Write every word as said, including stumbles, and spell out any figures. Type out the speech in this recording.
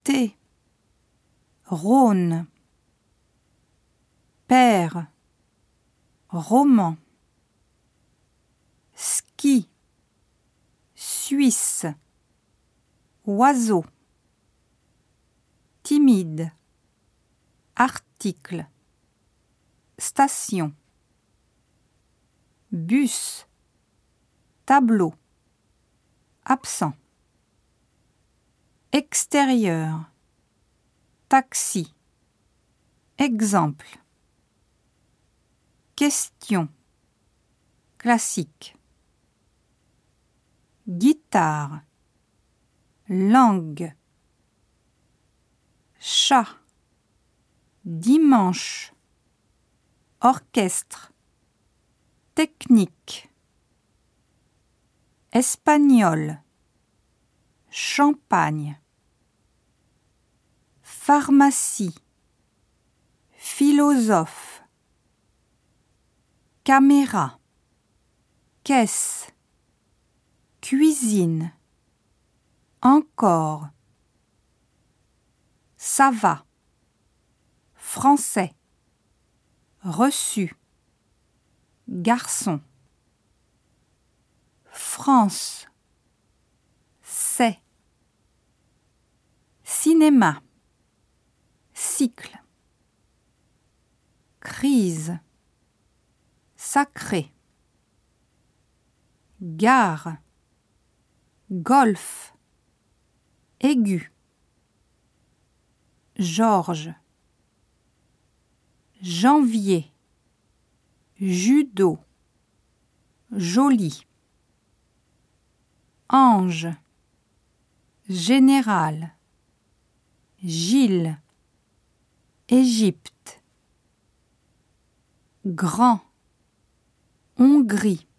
Thé, Rhône, Père, Roman, Ski, Suisse, Oiseau, Timide, Article, Station, Bus, Tableau, Absent, Extérieur, Taxi, Exemple, Question, Classique, Guitare, Langue, Chat, Dimanche, Orchestre, Technique, Espagnol, Champagne, Pharmacie, Philosophe, Caméra, Caisse, Cuisine, Encore, Ça va, Français, Reçu, Garçon, France, C'est, Cinéma, Cycle, Crise, Sacré, Gare, Golf, Aigu, Georges, Janvier, Judo, Joli, Ange, Général, Gilles, Égypte, Grand, Hongrie,